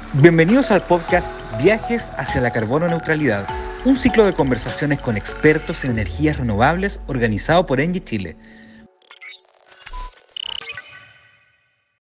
Bienvenidos al podcast Viajes hacia la Carbono Neutralidad, un ciclo de conversaciones con expertos en energías renovables organizado por ENGIE Chile.